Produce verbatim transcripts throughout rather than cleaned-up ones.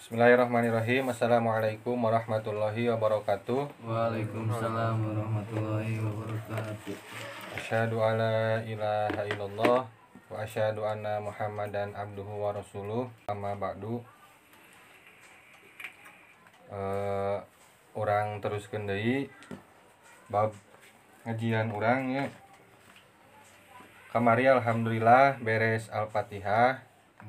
Bismillahirrahmanirrahim. Assalamualaikum warahmatullahi wabarakatuh. Waalaikumsalam warahmatullahi wabarakatuh. Asyhadu alla ilaha illallah wa asyhadu anna Muhammadan abduhu wa rasuluh. Amma ba'du. Uh, orang teruskeun deui bab ngajian urang nya. Kamari alhamdulillah beres Al-Fatihah.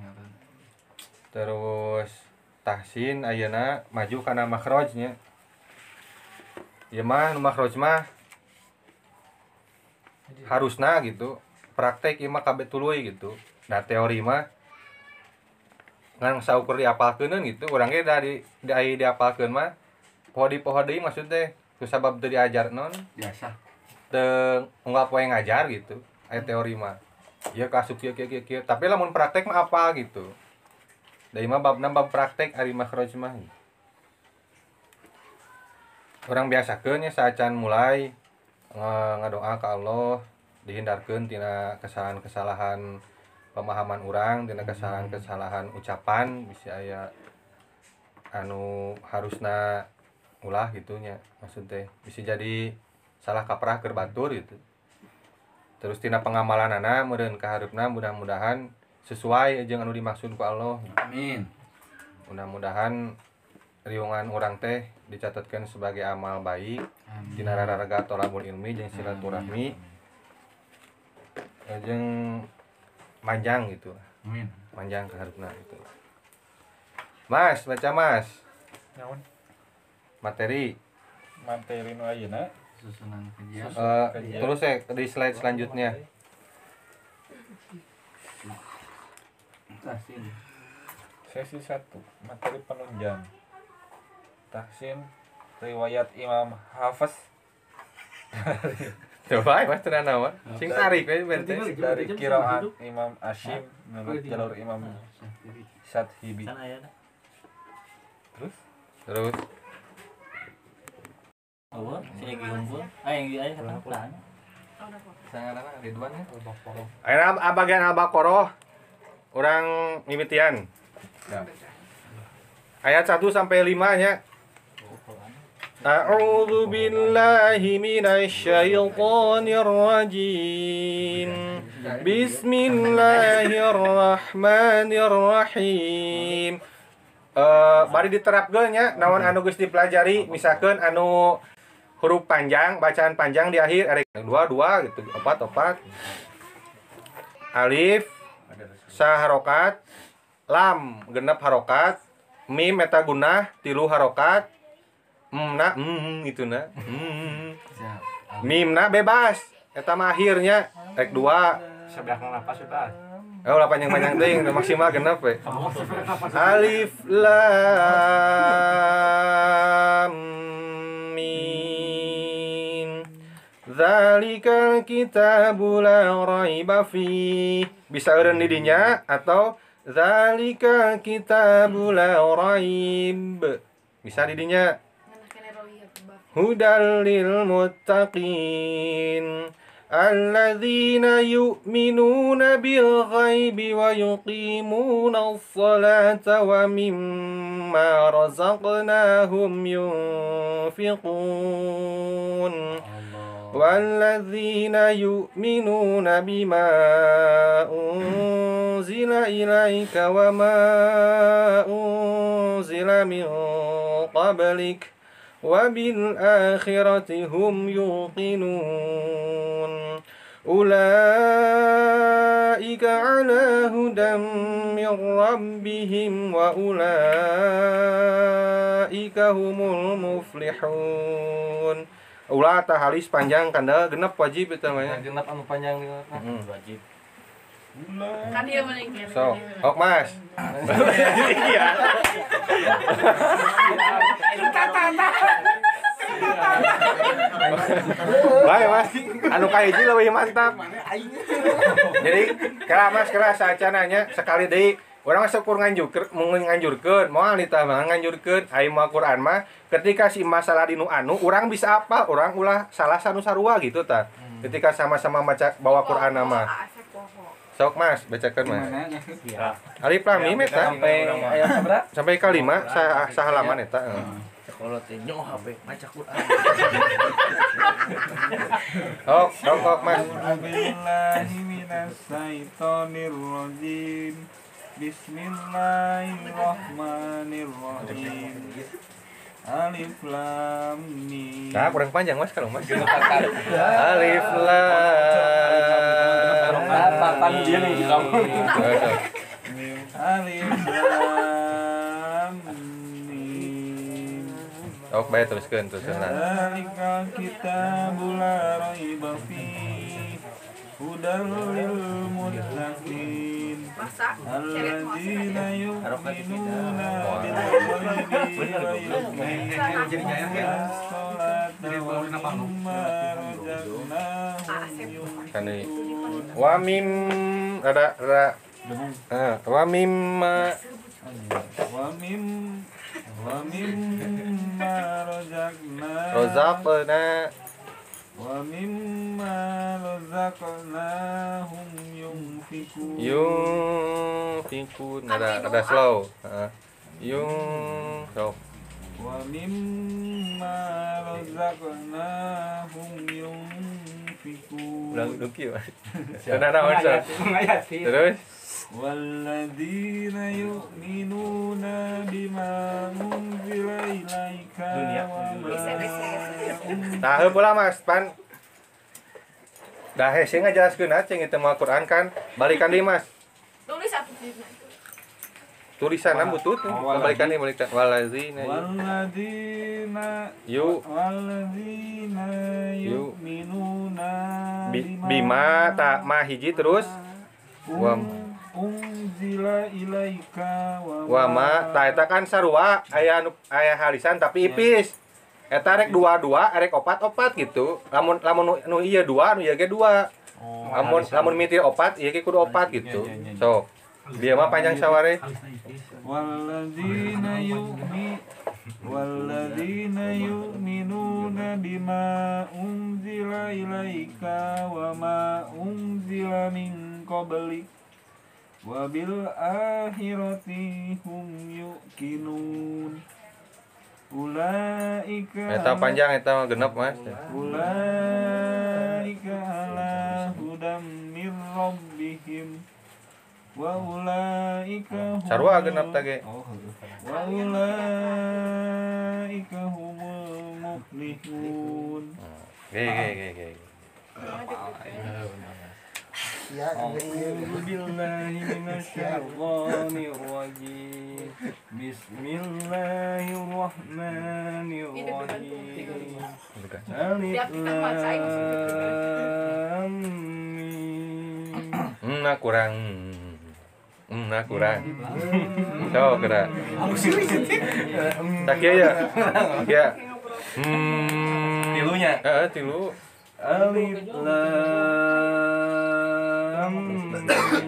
Terus tahsin ayeuna maju kana makhraj nya. Ieu mah nu makhraj mah harusna gitu. Praktek ieu mah kabeh tuluy gitu. Nah teori mah ngan saukur diapalkeun gitu. Urang ge da di di ai diapalkeun mah poho di poho deui maksud teh ku sabab teu diajar non Biasa. teu unggal poe ngajar gitu. Aya teori mah. Ieu kasuk kieu kieu kieu tapi lamun praktek mah apa gitu. Da mah babna bab praktek ari makhraj mah. Urang biasakeun nya saacan mulai ngadoa ka Allah dihindarkeun tina kesalahan-kesalahan pemahaman urang, tina kesalahan-kesalahan ucapan bisa aya anu harusna ulah gitu nya. Maksud teh bisa jadi salah kaprah keur batur gitu. Terus tina pengamalanana meureun ka hareupna mudah-mudahan sesuai jeung anu dimaksud ku Allah. Amin. Mudah-mudahan riungan urang teh dicatatkeun sebagai amal baik dina raraga thalabul ilmi jeung silaturahmi jeung manjang gitu. Amin. Manjang ka hareupna gitu. Mas, baca Mas. Naon? Materi Materi nu ayeuna Susunan kajian. uh, terus ya di slide selanjutnya. Tahsin. sesi satu materi penunjang. Tahsin riwayat Imam Hafiz Coba Mas tenan naon? Sing tarik we bente. dari qiraat Imam Asyim menurut jalur Imam Syadhibi. Terus Terus Oh, si Egi unggul. Ah, yang dia kata pelan. sangarana Ridwan ya. Al-Baqarah. Ayeuna bagian Al-Baqarah urang mimitian. Ya. Ayat satu sampai lima nya. A'udzu billahi minasy syaithanir rajim. Bismillahirrahmanirrahim. Uh, bari diterapkeun nya naon anu geus dipelajari misalkeun anu huruf panjang, bacaan panjang di akhir ada dua dua gitu, opat opat. Alif saharokat, lam genep harokat, mim eta gunah tilu harokat, mna mm gitu na. Mm. Mimna bebas, eta mah akhirnya rek dua. Sebelah napas bebas. Oh, lah panjang-panjang teuing maksimal genep we. Alif lam mim. Dzalikal kitabu la raiba fi. Bisa eureun di dinya atau dzalikal kitabu la raib. Bisa di dinya. Hudal lil muttaqin. الذين يؤمنون بالغيب ويقيمون الصلاة ومما رزقناهم ينفقون والذين يؤمنون بما أنزل إليك وما أنزل من قبلك وبالآخرة هم يوقنون أولئك على هدى من ربهم وأولئك هم المفلحون. Ulah tah halis panjang kanda genep wajib eta mah nya. Genep anu panjang wajib. Kan dia meninggal. So, ok Mas. Iya. Baik Mas, anu kahiji leuwih mantap. Jadi, kira Mas kira saacana nya sekali deui urang masuk kur nganjurkeun mun nganjurkeun moal ditah mah nganjurkeun ai mah Quran mah ketika si masalah dinu anu urang bisa apa urang ulah salah sanu sarua gitu tah. Ketika sama-sama maca bawa Quran mah. Sok Mas, bacakeun Mas. Gimana ya? Siap. Alif lam mim eta Sampai ayat seberapa? sampai kalima sa sahalaman eta. heeh. Kalau teh nyoh H P baca Quran. Oh, rokok Mas. A'udzubillahi minasyaitonirrajim. Bismillahirrahmanirrahim. Alif lam mim. Nah, kurang panjang Mas kalau Mas. Alif lam. Papan dia nih di kamu. Eh, Alif lam mim. sok bae teruskeun teruskeun lah. Zalikal kitabul la raiba fihi hudal lil muttaqin Masa alladzina yu'minuna bil ghaibi wa yuqimuna as-salata wa mimma razaqnahum Kan deui. Wa mim ada ada eh wa mimma wa mim wa mimma razaqnahum rozaqna wa mimma razaqnahum yunfikun yunfikun ada ada slow. Heeh. Yung sok. wa mimma razaqnahum yunfikun Ulang duki Mas. Ada naon sok. Terus walladzina yu'minuna bima unzila ilaika wa ma Nah, heuh pula Mas, pan. Dah hese ngajelaskeun ah ceng itu mah Quran kan. Balikan deui Mas. tulis apa sih? Tulisanna butut. Balikan deui balikan walazina walladzina yu walladzina Yu. yu'minuna bi- bima tak mah hiji terus wa unzila ilaika wa ma ta eta kan sarua aya anu aya halisan tapi ipis. Eta rek dua-dua, rek opat-opat gitu. Lamun lamun nu, nu ieu dua, nu ieu ge dua. Lamun lamun mitir opat, ieu ge kudu opat gitu. Sok. Dia mah panjang saware. walladzina yu'mi walladzina yu'minuna bima unzila ilaika wa ma unzila min qablik wa bil akhirati hum yuqinun ulaika Eta panjang eta mah genep Mas. ulaika ala hudam mir rabbihim wa ulaika hum Sarua genep tage. wa ulaika humul muflihun Ge ge ge ge. A'udzu billahi minasyaitonir rajim. Bismillahirrahmanirrahim. Alif lam mim. Hmm, nah kurang. Hmm, nah kurang. Sok geura. Tak kieu ya. Ya. Hmm. Tilunya. Heeh, tilu. Alif lam mim.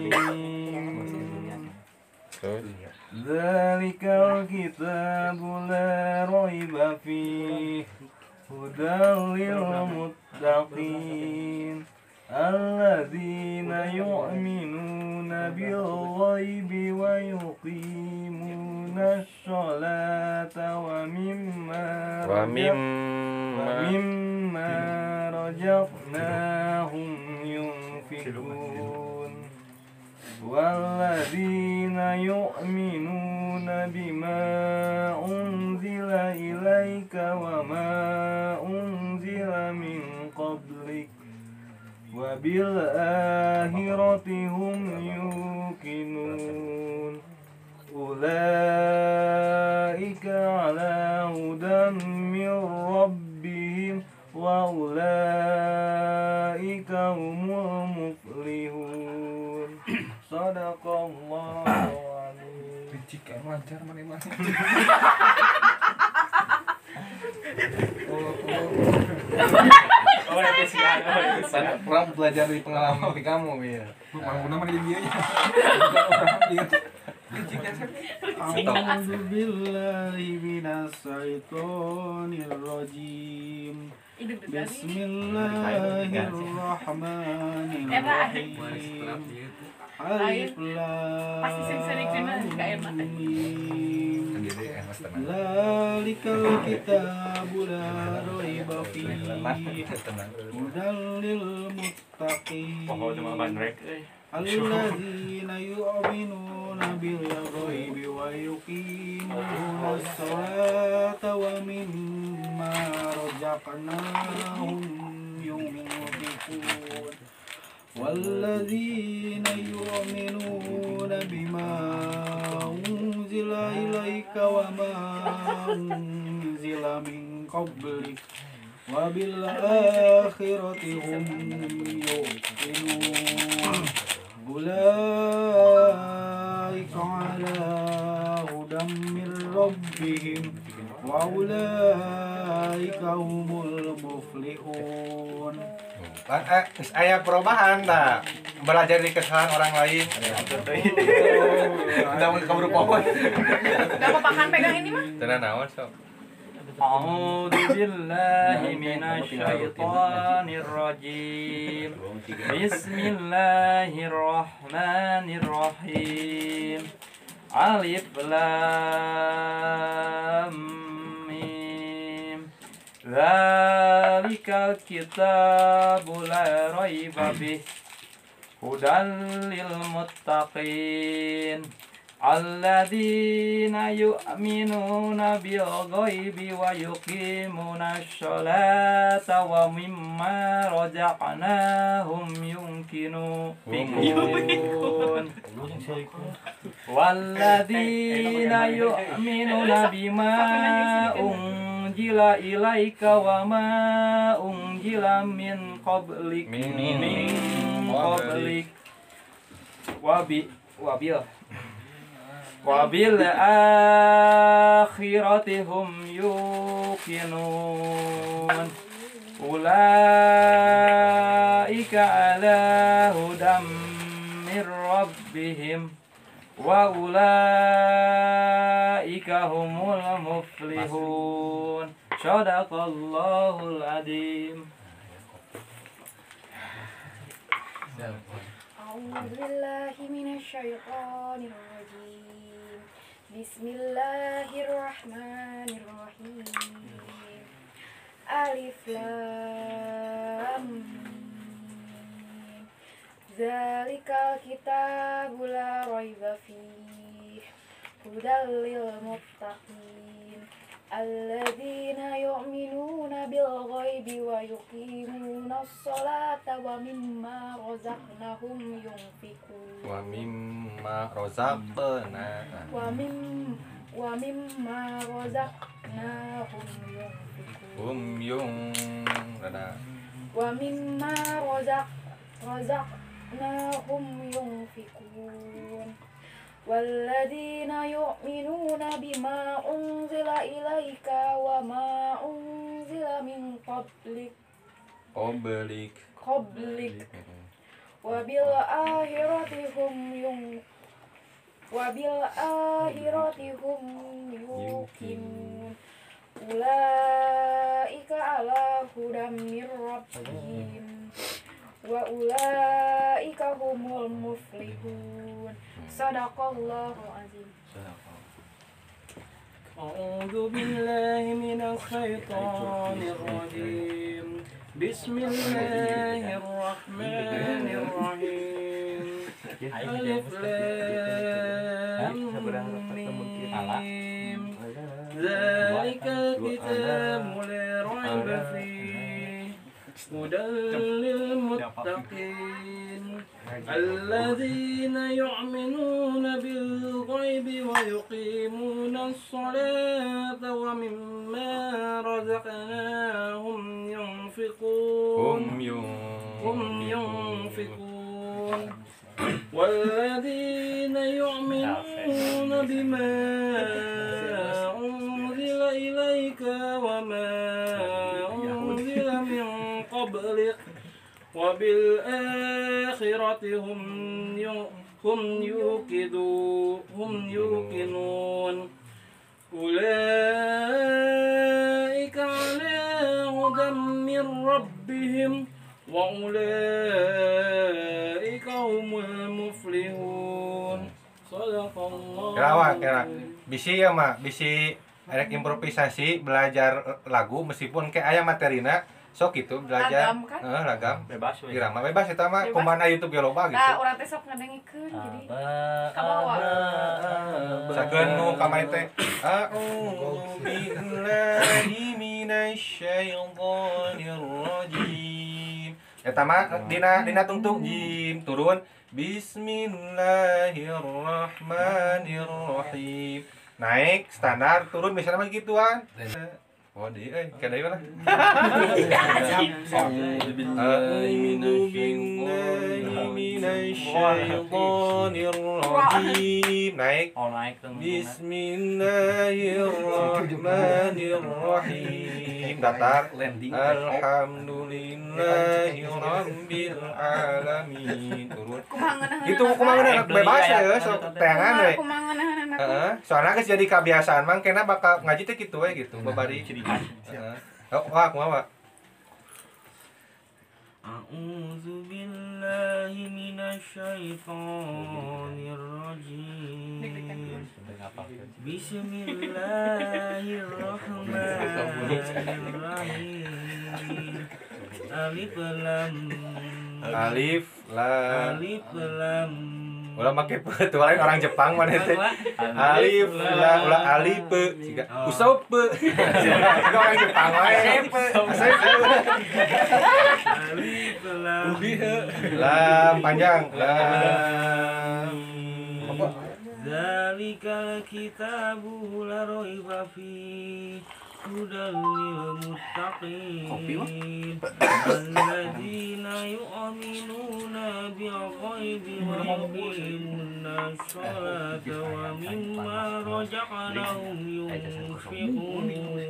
Terus Dzalikal kitabu la raiba fihi hudal lil muttaqin alladzina yu'minuna bil ghaibi wa yuqimuna ash-sholata wa mimma wa mim wa mimma razaqnahum yunfikun walladzina yu'minuna bima unzila ilaika wa ma unzila min qablik wa bil akhirati hum yuqinun ulaika ala hudan min rabbihim wa ulaika humul muflihun. Sadaqallahu alaihi. Jika lancar mana-mana. Oh, itu sih. Orang belajar dari pengalaman dari kamu ya. Mana mana dia nya. A'udzu billahi minasyaitonir rajim. Bismillahirrahmanirrahim. Alif Pasti sering-sering kena nggak enak. mim. Sendiri emas tenang. Zalikal kitabu la raiba fihi Tenang. hudal lil muttaqin. Pokoknya cuma bandrek euy. Alladzina yu'minuna bil ghaibi wa yuqimuna as-salata wa mimma razaqnahum yunfiqun. Walladzina yu'minuna bima unzila ilaika wa ma unzila min qablik wa bil akhirati hum yuqinun. Ulaika ala hudam min rabbihim wa ulaika humul muflihun. Kan eh geus aya perubahan tah. Belajar dari kesalahan orang lain. Udah mau kabur pohon. Gak apa-apa kan pegang ini mah. Cenah naon sok. A'udzu billahi minasy syaithanir rajim. Bismillahirrahmanirrahim. Alif lam mim. Dzalikal kitabu la raiba bih. Hudan lil muttaqin. Alladzina yu'minuna bil ghaibi wa yuqimuna sholata wa mimma razaqnahum yunkinun. Walladzina yu'minuna bima unzila ilaika wa ma unzila min qablik min qablik wabi wabil wabil akhirati hum yuqinun. Ulaika ala hudam mir rabbihim wa ulaika humul muflihun. Shadaqallahul adzim. A'udzu billahi minasy syaithanir rajim. Bismillahirrahmanirrahim. Alif lam mim. Zalikal kitabu la raiba fihi hudal lil muttaqin. Alladzina yu'minuna bil ghaibi wa yuqimuna as-salata wa mimma razaqnahum yunfiqun. Wa mimma razaqna. Wa mim wa mimma razaqnahum yunfiqun. Hum yung rada. Wa mimma razaq razaqnahum yunfiqun. Walladzina yu'minuna bima unzila ilaika wa ma unzila min qablik Oblik. qablik wa bil akhirati hum yung wa bil akhirati hum yuqinun. Ulaika ala hudam mir rabbihim wa ulaika humul muflihun. Sadaqallahu azim. A'udzu billahi minasy syaithanir rajim. Bismillahirrahmanirrahim. Alif lam mim. Zalikal kitabu la raiba fihi hudal lil muttaqin. Alladzina yu'minuna bil ghaibi wa yuqimuna as-salata wa mimma razaqnahum yunfiqun. Hum yung Hum yunfiqun. Walladzina yu'minuna bima unzila ilaika wa ma unzila min qablik wa bil akhirati hum hum yuqidu hum yuqinun. Ulaika ala hudam min rabbihim wa ulaika humul muflihun. Kira kira bisi ya mah bisi erek improvisasi belajar lagu meskipun kayak aya materina sok itu belajar Lagam, kan? eh, lagam Bebas we. irama bebas eta mah Bebas. kumaha YouTube ge loba gitu. Nah, urang teh sok ngadengikeun jadi kabawa. Sakeun nu ka mae teh a'udzu billahi minasyaitonir rajim. Eta mah dina dina tungtung jim turun bismillahirrahmanirrahim. Naik standar turun misalnya mah gituan. Oh di eh kada ieu lah. A'udzu billahi minasyaitonir rajim. Naik Oh naik tuh. Bismillahirrahmanirrahim. Datar Alhamdulillahi rabbil alamin. Turun. Kumaha ngeunaheun. Gitu kumaha ngeunaheun bebas ya sok teangan we. Kumaha ngeunaheun anak. Heeh, soalnya geus jadi kebiasaan mang kena bakal ngaji teh kitu we gitu babari. Heeh. Oh, wah, kumaha? A'udzu billahi minasyaitonir rajim. Bismillahirrahmanirrahim. Alif lam Alif lam. Alif lam Ulah make pe lain orang Jepang mana teh. Alif lam ulah alif pe siga usop pe. Siga orang Jepang wae. Alif lam Lam panjang. Lam. Apa? Zalikal kitabu la raiba fihi hudal lil muttaqin alladzina yu'minuna bil ghaibi wa yuqimuna sholata wa mimma razaqnahum yunfiqun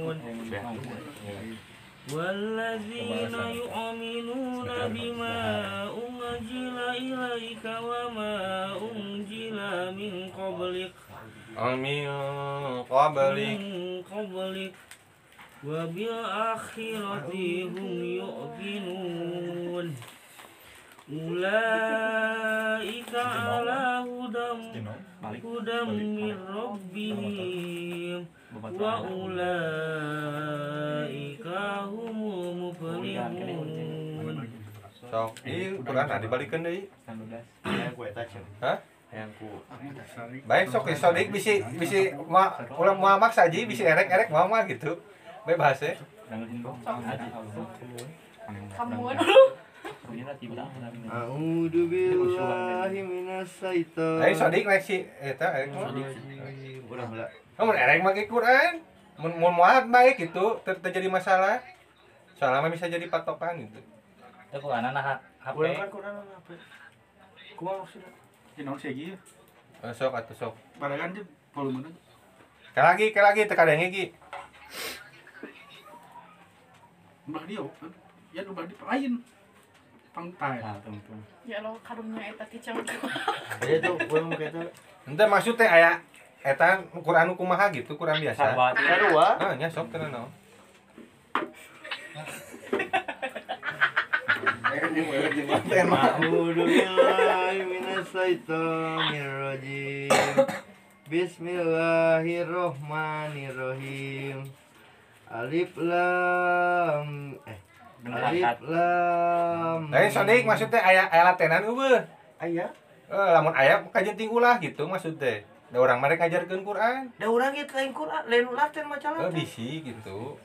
والذين يؤمنون بما أنزل إليك وما أنزل من قبلك Amin qablik. من قبلك وبالآخرة هم يؤمنون أولئك على هدى هدى من ربهم وأولئك هم المفلحون. Sok, ieu Quran nah dibalikeun deui. Hah? Baik sok ieu sodik bisi bisi ma ulah moal maksa ji bisi erek-erek moal mah gitu. Bebas ya. Kamu dulu. A'udzu billahi minasyaitonir Ayo sodik naik si eta erek mah. Mun erek make Quran, mun mun moal baik gitu, ter terjadi masalah. Soalnya mah bisa jadi patokan gitu. Itu Quran anak H P. Urang kan Quran H P. Kumaha maksudna? Dinaon sih ieu? Eh, Sok atuh sok. Baragan teh volumena. Ka lagi, ka lagi teu kadenge gi. Mbah dia ya nu badi lain. Pangtai. Ya lo kadungnya eta kicau. Aya tuh urang mah eta. Henteu maksud teh aya eta Quran nu kumaha gitu, Quran biasa. Sahabat. Sarua. Ah, nya sok teh naon. A'udzu billahi minasyaitonir rajim. Bismillahirrahmanirrahim. Alif lam eh Alif lam. Lain sodik maksud teh aya aya latenan eueuh. Aya. Eh lamun aya kajenting ulah gitu maksud teh. Da urang mah rek ngajarkeun Quran. Da urang ieu lain Quran, lain laten macalah. Eh bisi gitu.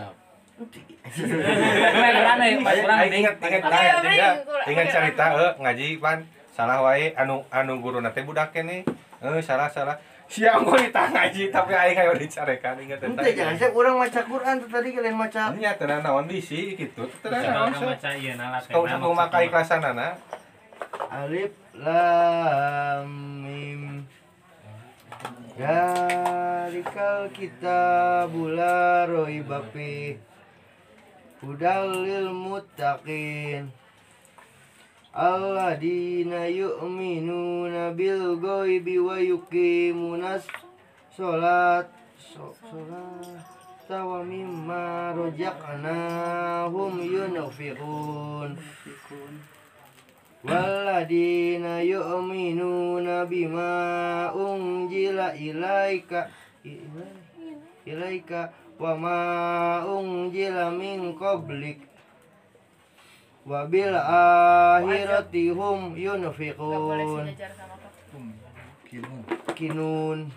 Keren nih, pas kurang Aing inget inget Oke, inget oke, ya. oke. Inget cerita eh ngaji pan salah wae anu anu guruna teh budak keneh. Eh salah salah. Siang gua ditang ngaji tapi aing aya dicarekan inget eta. Henteu jangan saya urang maca Quran teh tadi lain maca. Nya teu naon bisi gitu. Teu naon. Coba baca ieu na Kau sapu maka ikhlasanana. Alif lam mim. Zalikal kitabu la raiba fihi hudal lil muttaqin alladzina yu'minuna bil ghaibi wa yuqimunas sholat sholat wa mimma razaqnahum yunfiqun Walladzina yu'minuna bima unzila ilaika ilaika wa ma unzila min qablik wa bil akhirati hum yunfiqun. Kinun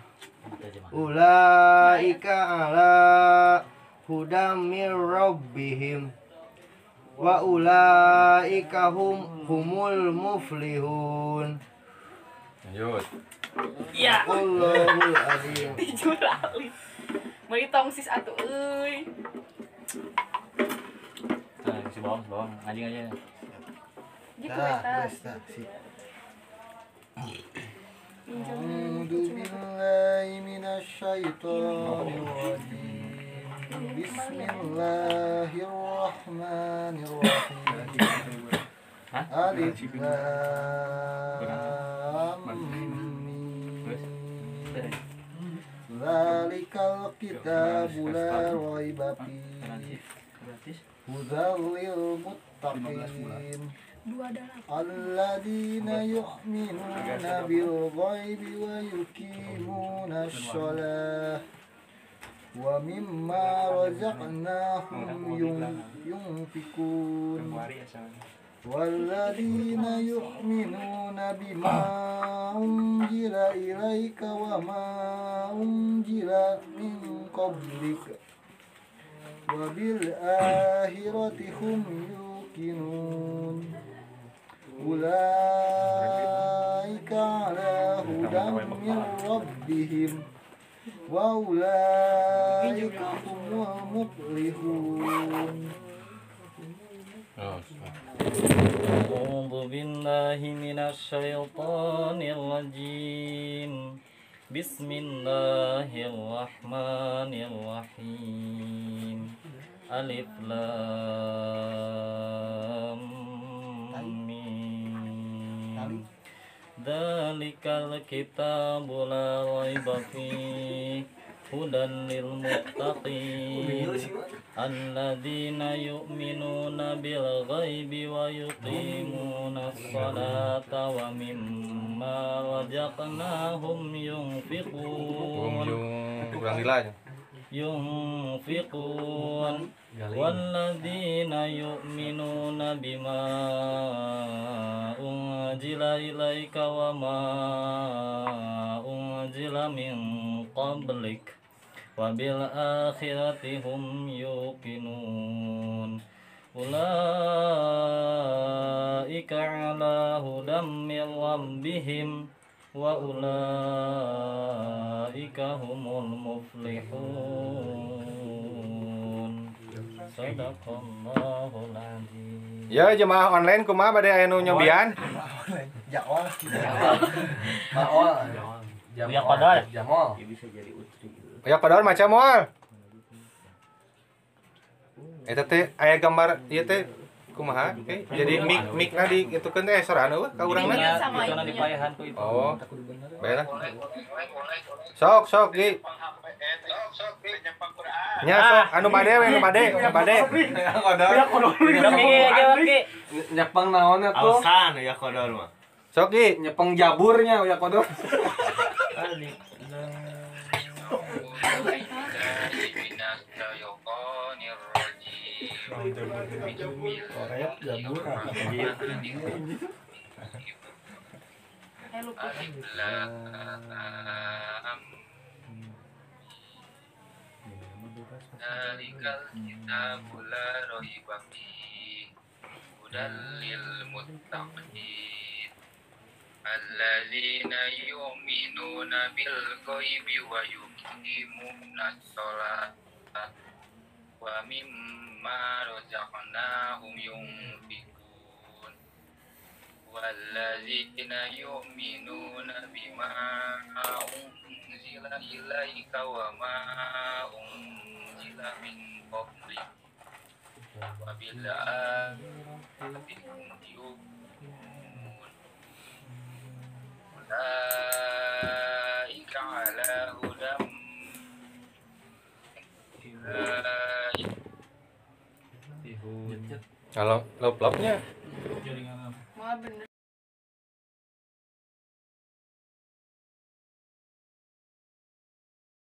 ulaika ala hudam mir rabbihim wa ulaika hum humul muflihun. Lanjut. Iya. Allahul azim. Dijurali. Meuli tong sis atuh euy. Nah, si bawang, si bawang, anjing aja. Gitu eta. A'udzu billahi minasy syaithanir rajim. Bismillahirrahmanirrahim. Alif lam mim. Zalikal kitabu la raiba fihi hudan lil muttaqin. Alladzina yu'minuna bil ghaibi wa yuqimuna shalah wa mimma razaqnahum yunfikun. Walladzina yu'minuna bima unzila ilaika wa ma unzila min qablik wa bil akhirati hum yuqinun. Ulaika ala hudam min rabbihim wa ulaika humul muflihun. A'udzu billahi minasy syaithanir rajim. Bismillahirrahmanirrahim. Alif lam mim. Dzalikal kitabu la raiba fihi hudan lil muttaqin. Alladzina yu'minuna bil ghaibi wa yuqimuna sholata wa mimma razaqnahum yunfiqun. Kurang dilanya. Yunfiqun walladzina yu'minuna bima unzila ilaika wa ma unzila min qablik wa bil akhirati hum yuqinun. Ulaika ala hudam min rabbihim wa ulaika humul muflihun. Sadaqallahul azim. Ya jemaah online kumaha bade aya nu nyobian? Jawa. Ya kodol. Jamol. Ya padahal macam moal. Eta teh aya gambar ieu teh kumaha? Oke. Jadi mic micna di itukeun teh sorana we ka urangna. Itu na dipayahan ku itu. Oh. Baiklah. Sok sok Gi. Nya sok anu bade we anu bade, anu bade. Udah Ki aja Ki. Nyepeng naonnya tuh? Alasan ya kodor mah. Sok Gi. Nyepeng jaburnya ya kodor. Zalikal kitabu la raiba fihi hudan lil muttaqin. Alladzina yu'minuna bil ghaibi wa yuqimuna sholata wa mimma razaqnahum yunfiqun. Walladzina yu'minuna bima unzila ilaika wa ma unzila min qablik wa bil akhirati hum yuqinun. Ulaika ala hudam Kalau lop-lopnya